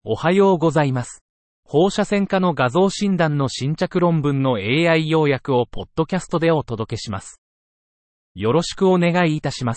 おはようございます。放射線科の画像診断の新着論文の AI 要約をポッドキャストでお届けします。よろしくお願いいたします。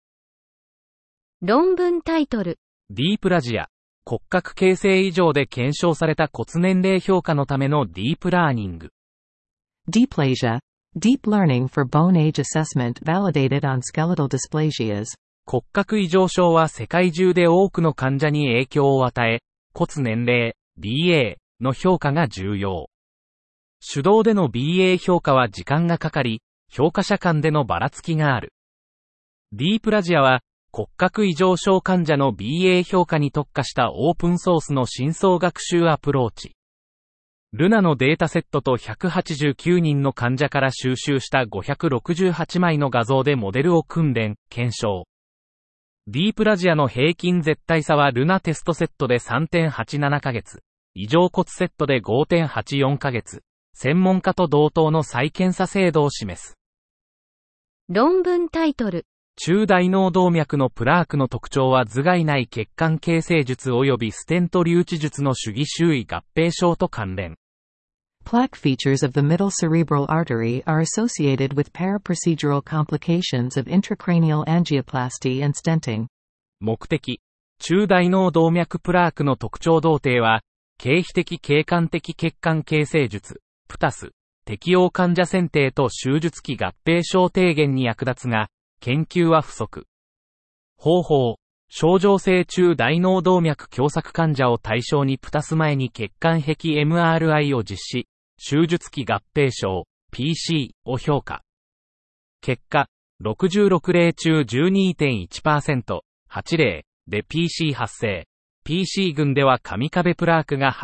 論文タイトル。 ディープラジア、骨格形成異常で検証された骨年齢評価のためのディープラーニング。 Dysplasia, Deep Learning for Bone Age Assessment Validated on Skeletal Dysplasias。 骨格異常症は世界中で多くの患者に影響を与え、骨年齢、BA の評価が重要。手動での BA 評価は時間がかかり、評価者間でのばらつきがある。ディープラジアは、骨格異常症患者の BA 評価に特化したオープンソースの深層学習アプローチ。ルナのデータセットと189人の患者から収集した568枚の画像でモデルを訓練、検証。ディープラジアの平均絶対差はルナテストセットで 3.87 ヶ月、異常骨セットで 5.84 ヶ月、専門家と同等の再検査精度を示す。 論文タイトル。 中大脳動脈のプラークの特徴は頭蓋内血管形成術及びステント留置術の主義周囲合併症と関連。 Plaque features of the middle cerebral artery are associated with paraprocedural complications of intracranial angioplasty and stenting。 目的。中大脳動脈プラークの特徴同定は、経皮的経管的血管形成術、PTAS、適用患者選定と手術期合併症低減に役立つが、研究は不足。方法。症状性中大脳動脈狭窄患者を対象にPTAS前に血管壁 MRI を実施。手術期合併症、PC を評価。結果、66例中 12.1%、8例で PC 発生。PC 群では上壁プラークが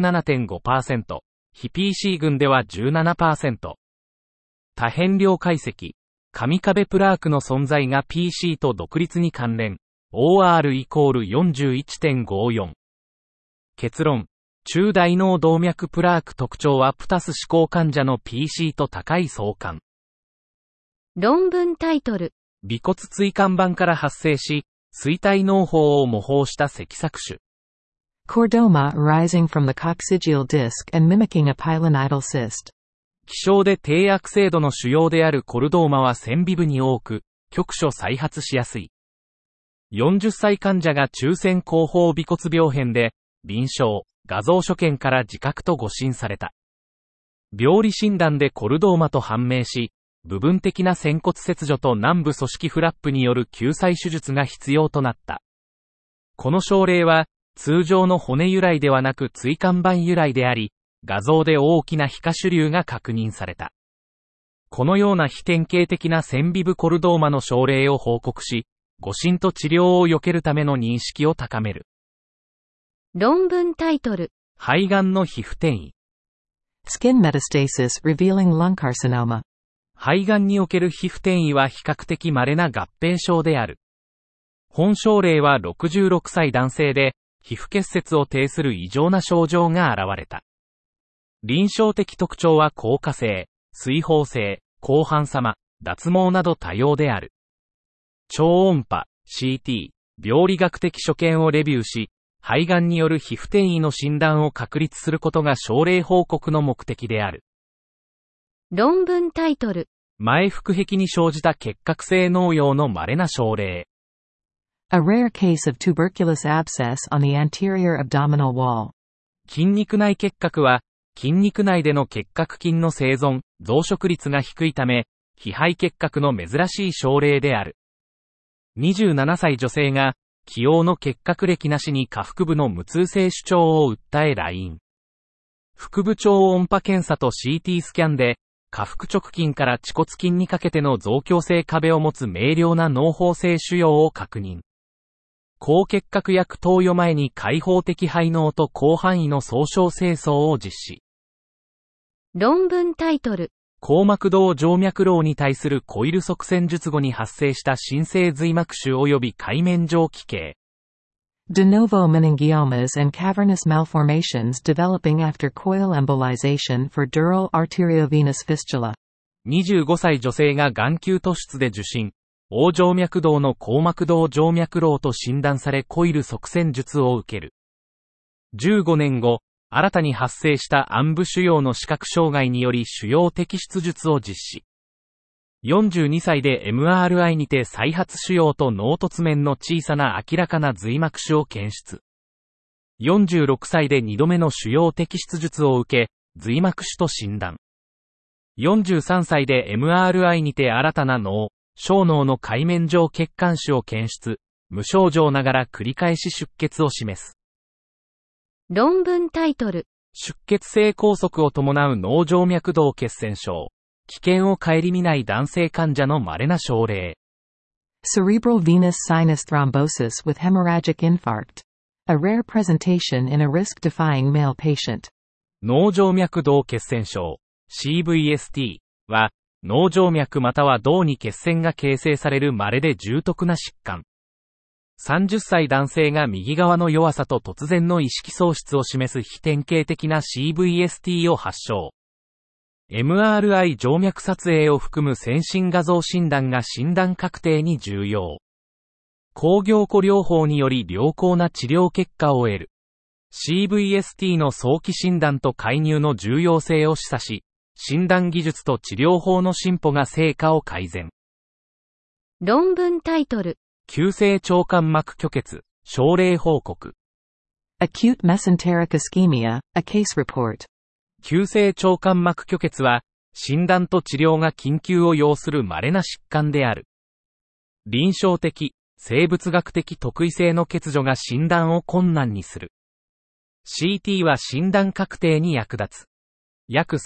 87.5%、非 PC 群では 17%。多変量解析。上壁プラークの存在が PC と独立に関連。OR イコール 41.54。結論。中大脳動脈プラーク特徴はPTAS指向患者の PC と高い相関。 論文タイトル。 尾骨椎間板から発生し、椎体嚢胞を模倣した脊索種。 Chordoma arising from the coccygeal disc and mimicking a pilonidal cyst。 希少で低悪性度の腫瘍であるコルドーマは線尾部に多く、局所再発しやすい。40歳患者が中線後方尾骨病変で、臨床。画像所見から自覚と誤診された。病理診断でコルドーマと判明し、部分的な仙骨切除と軟部組織フラップによる救済手術が必要となった。この症例は、通常の骨由来ではなく椎間板由来であり、画像で大きな皮下腫瘤が確認された。このような非典型的な線尾部コルドーマの症例を報告し、誤診と治療を避けるための認識を高める。 論文タイトル。 肺がんの皮膚転移。 Skin metastasis revealing lung carcinoma。 肺がんにおける皮膚転移は比較的稀な合併症である。本症例は66歳男性で、皮膚結節を呈する異常な症状が現れた。臨床的特徴は硬化性、水疱性、広範様、脱毛など多様である。超音波、CT、病理学的所見をレビューし、肺がんによる皮膚転移の診断を確立することが症例報告の目的である。 論文タイトル。 前腹壁に生じた結核性脳瘍の稀な症例。 A rare case of tuberculous abscess on the anterior abdominal wall。 筋肉内結核は、筋肉内での結核菌の生存、増殖率が低いため、非肺結核の珍しい症例である。27歳女性が、既往の結核歴なしに下腹部の無痛性主張を訴え来院。腹部超音波検査と CT スキャンで、下腹直筋から恥骨筋にかけての増強性壁を持つ明瞭な脳胞性腫瘍を確認。抗結核薬投与前に開放的肺嚢と広範囲の総称清掃を実施。 論文タイトル。 硬膜動静脈瘻に対するコイル塞栓術後に発生した新生髄膜腫及び界面上奇形。 De novo meningiomas and cavernous malformations developing after coil embolization for dural arteriovenous fistula。 25歳女性が眼球突出で受診。横静脈動の硬膜動静脈瘻と診断されコイル塞栓術を受ける。 15年後、新たに発生した暗部腫瘍の視覚障害により腫瘍摘出術を実施。42歳で MRI にて再発腫瘍と脳突面の小さな明らかな髄膜腫を検出。46歳で2度目の腫瘍摘出術を受け、髄膜腫と診断。43歳で MRI にて新たな脳、小脳の界面上血管腫を検出。無症状ながら繰り返し出血を示す。 論文タイトル。 出血性梗塞を伴う脳静脈動血栓症。危険を顧みない男性患者の稀な症例。 Cerebral venous sinus thrombosis with hemorrhagic infarct. A rare presentation in a risk-defying male patient. 脳静脈動血栓症 CVST は脳静脈または動に血栓が形成される稀で重篤な疾患。30歳男性が右側の弱さと突然の意識喪失を示す非典型的な CVST を発症。MRI 静脈撮影を含む先進画像診断が診断確定に重要。抗凝固療法により良好な治療結果を得る。CVST の早期診断と介入の重要性を示唆し、診断技術と治療法の進歩が成果を改善。 論文タイトル。 急性腸間膜虚血、症例報告。 Acute mesenteric ischemia, a case report. 急性腸間膜虚血は、診断と治療が緊急を要する稀な疾患である。臨床的、生物学的特異性の欠如が診断を困難にする。CT は診断確定に役立つ。約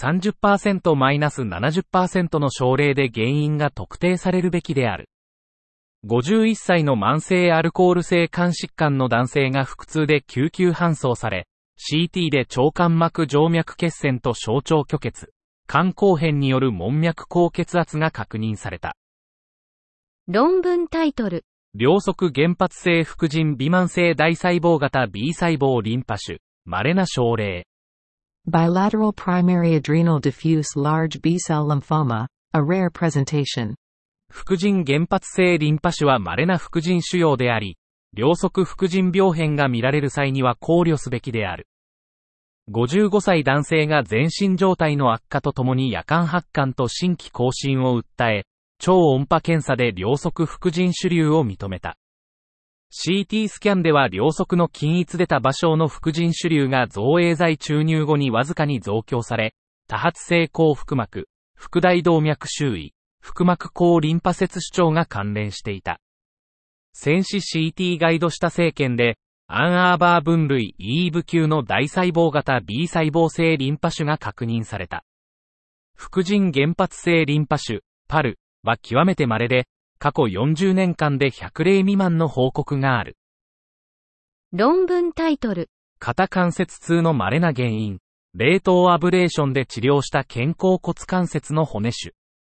30%-70% の症例で原因が特定されるべきである。51歳の慢性アルコール性肝疾患の男性が腹痛で救急搬送され、CT で腸間膜静脈血栓と小腸虚血、肝硬変による門脈高血圧が確認された。 論文タイトル。 両側原発性副腎微慢性大細胞型 B 細胞リンパ腫、稀な症例。 Bilateral primary adrenal diffuse large B-cell lymphoma, a rare presentation. 副腎原発性リンパ腫は稀な副腎腫瘍であり、両側副腎病変が見られる際には考慮すべきである。55歳男性が全身状態の悪化とともに夜間発汗と心悸亢進を訴え、超音波検査で両側副腎腫瘤を認めた。CT スキャンでは両側の均一出た場所の副腎腫瘤が造影剤注入後にわずかに増強され、多発性後腹膜、腹大動脈周囲、腹膜高リンパ節主張が関連していた。先至 CT ガイドした生検で、アンアーバー分類 EVE 級の大細胞型 B 細胞性リンパ腫が確認された。副腎原発性リンパ腫、PAL は極めて稀で、過去40年間で100例未満の報告がある。 論文タイトル。 肩関節痛の稀な原因、冷凍アブレーションで治療した肩甲骨関節の骨腫。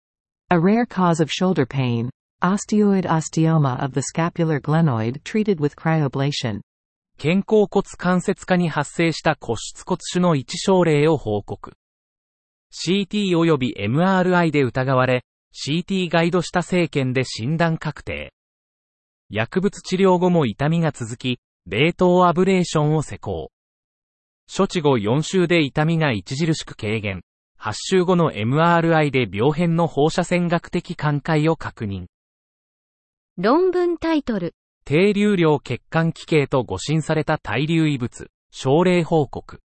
A rare cause of shoulder pain, osteoid osteoma of the scapular glenoid treated with cryoablation. 肩甲骨関節化に発生した骨質骨腫の一症例を報告。CT 及び MRI で疑われ、CT ガイドした生検で診断確定。薬物治療後も痛みが続き、冷凍アブレーションを施行。処置後4週で痛みが著しく軽減。8週後の MRI で病変の放射線学的寛解を確認。 論文タイトル。 低流量血管奇形と誤診された対流異物、症例報告。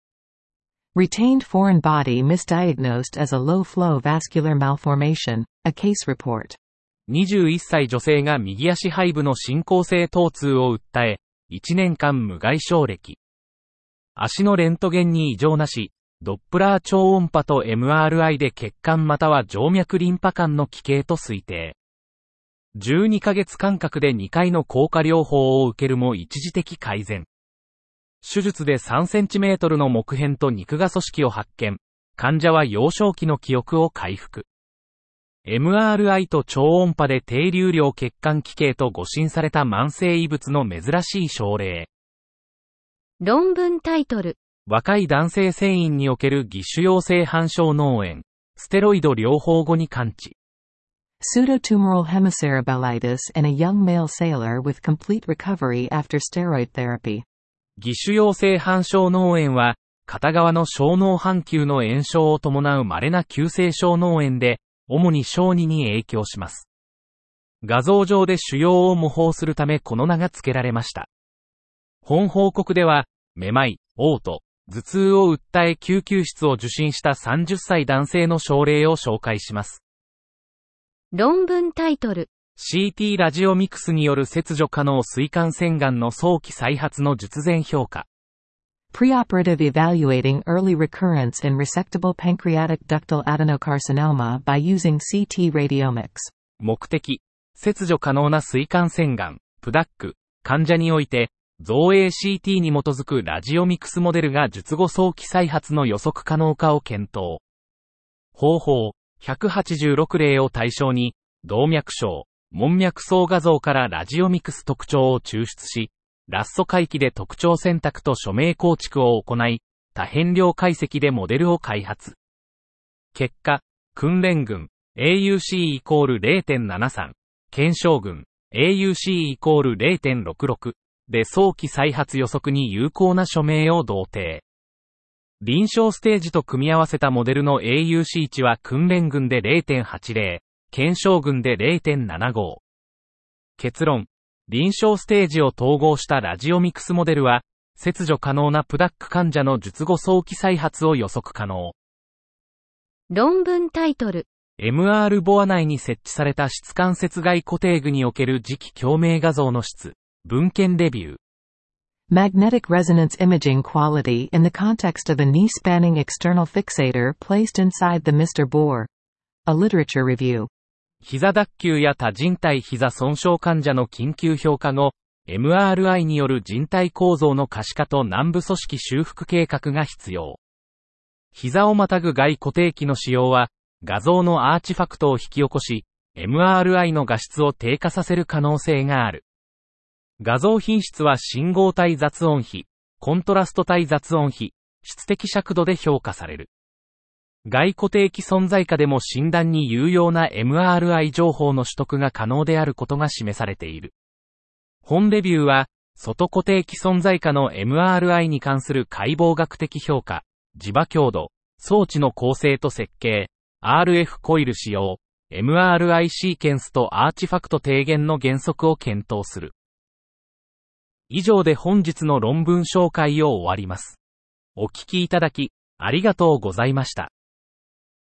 Retained foreign body misdiagnosed as a low-flow vascular malformation, a case report. 21歳女性が右足背部の進行性疼痛を訴え、1年間無外傷歴。足のレントゲンに異常なし、ドップラー超音波と MRI で血管または静脈リンパ管の奇形と推定。12ヶ月間隔で2回の効果療法を受けるも一時的改善。手術で3センチメートルの木片と肉芽組織を発見。患者は幼少期の記憶を回復。MRI と超音波で低流量血管奇形と誤診された慢性異物の珍しい症例。 論文タイトル。 若い男性船員における義手陽性反症脳炎。ステロイド療法後に完治。 Pseudotumoral hemicerebellitis in a young male sailor with complete recovery after steroid therapy. 義手陽性半小脳炎は、片側の小脳半球の炎症を伴う稀な急性小脳炎で、主に小児に影響します。画像上で腫瘍を模倣するためこの名が付けられました。本報告では、めまい、嘔吐、頭痛を訴え救急室を受診した30歳男性の症例を紹介します。 論文タイトル。 CT ラジオミクスによる切除可能膵管腺がんの早期再発の術前評価。 Preoperative evaluating early recurrence in resectable pancreatic ductal adenocarcinoma by using CT radiomics。 目的、切除可能な膵管腺がん、PDAC、患者において、造影 CT に基づくラジオミクスモデルが術後早期再発の予測可能かを検討。方法、186例を対象に、動脈小、門脈層画像からラジオミクス特徴を抽出し、ラッソ回帰で特徴選択と署名構築を行い、多変量解析でモデルを開発。結果、訓練群、AUC=0.73、検証群、AUC=0.66 で早期再発予測に有効な署名を同定。臨床ステージと組み合わせたモデルの AUC 値は訓練群で 0.80、検証群で 0.75。結論。臨床ステージを統合したラジオミクスモデルは、切除可能なPDAC患者の術後早期再発を予測可能。 論文タイトル。 MR ボア内に設置された質関節外固定具における磁気共鳴画像の質、文献レビュー。 Magnetic resonance imaging quality in the context of a knee-spanning external fixator placed inside the Mr. Bore. A literature review。 膝脱臼や多人体膝損傷患者の緊急評価後、MRI による人体構造の可視化と軟部組織修復計画が必要。膝をまたぐ外固定器の使用は、画像のアーチファクトを引き起こし、MRI の画質を低下させる可能性がある。画像品質は信号対雑音比、コントラスト対雑音比、質的尺度で評価される。外固定器存在下でも診断に有用な MRI 情報の取得が可能であることが示されている。本レビューは、外固定器存在下の MRI に関する解剖学的評価、磁場強度、装置の構成と設計、RF コイル使用、MRI シーケンスとアーチファクト低減の原則を検討する。以上で本日の論文紹介を終わります。お聞きいただき、ありがとうございました。